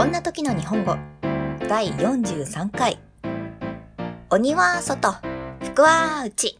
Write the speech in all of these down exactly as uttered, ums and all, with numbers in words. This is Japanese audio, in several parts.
こんな時の日本語だいよんじゅうさんかい。鬼は外、福は内。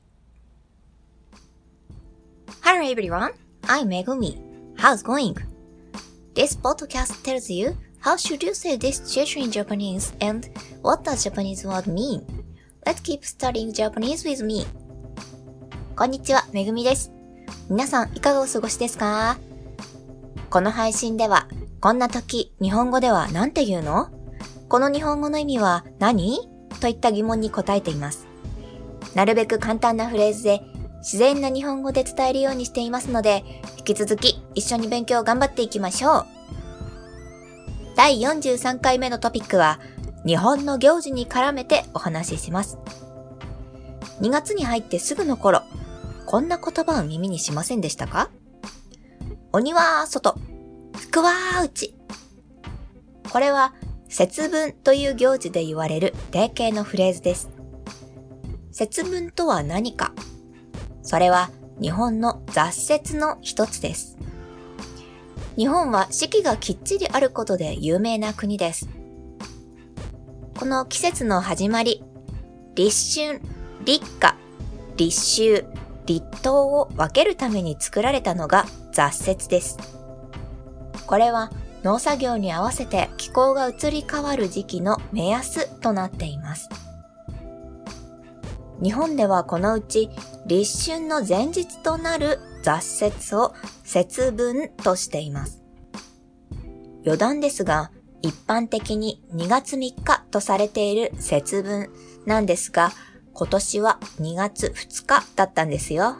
Hello everyone, I'm Megumi. How's going? This podcast tells you how should you say this situation in Japanese and what does Japanese word mean. Let's keep studying Japanese with me. こんにちは、めぐみです。皆さんいかがお過ごしですか？この配信では、こんな時、日本語では何て言うの？この日本語の意味は何？といった疑問に答えています。なるべく簡単なフレーズで、自然な日本語で伝えるようにしていますので、引き続き一緒に勉強頑張っていきましょう。だいよんじゅうさんかいめのトピックは、日本の行事に絡めてお話しします。にがつに入ってすぐの頃、こんな言葉を耳にしませんでしたか？鬼は外、福は内。これは節分という行事で言われる定型のフレーズです。節分とは何か？それは日本の雑節の一つです。日本は四季がきっちりあることで有名な国です。この季節の始まり、立春、立夏、立秋、立冬を分けるために作られたのが雑節です。これは農作業に合わせて気候が移り変わる時期の目安となっています。日本ではこのうち立春の前日となる雑節を節分としています。余談ですが、一般的ににがつみっかとされている節分なんですが、今年はにがつふつかだったんですよ。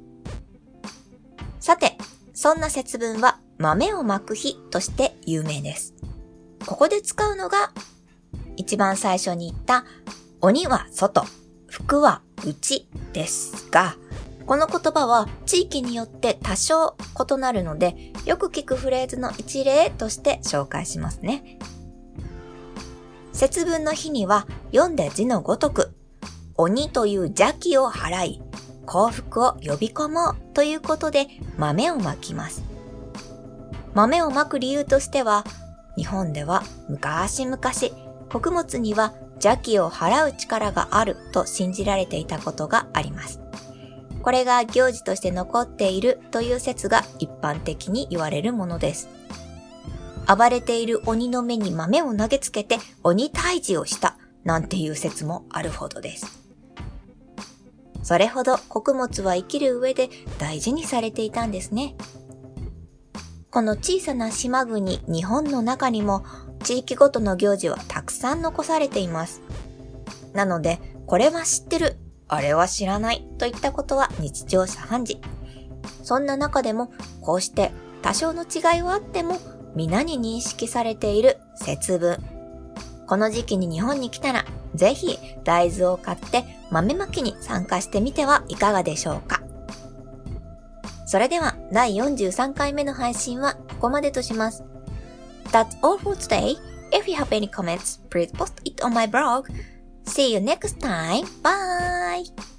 さて、そんな節分は豆をまく日として有名です。ここで使うのが一番最初に言った鬼は外、福は内ですが、この言葉は地域によって多少異なるので、よく聞くフレーズの一例として紹介しますね。節分の日には読んで字のごとく、鬼という邪気を払い、幸福を呼び込もうということで豆をまきます。豆をまく理由としては、日本では昔々穀物には邪気を払う力があると信じられていたことがあります。これが行事として残っているという説が一般的に言われるものです。暴れている鬼の目に豆を投げつけて鬼退治をしたなんていう説もあるほどです。それほど穀物は生きる上で大事にされていたんですね。この小さな島国日本の中にも地域ごとの行事はたくさん残されています。なので、これは知ってる、あれは知らないといったことは日常茶飯事。そんな中でもこうして多少の違いはあっても皆に認識されている節分。この時期に日本に来たらぜひ大豆を買って豆まきに参加してみてはいかがでしょうか。それではだいよんじゅうさんかいめの配信はここまでとします。That's all for today. If you have any comments, please post it on my blog. See you next time. Bye!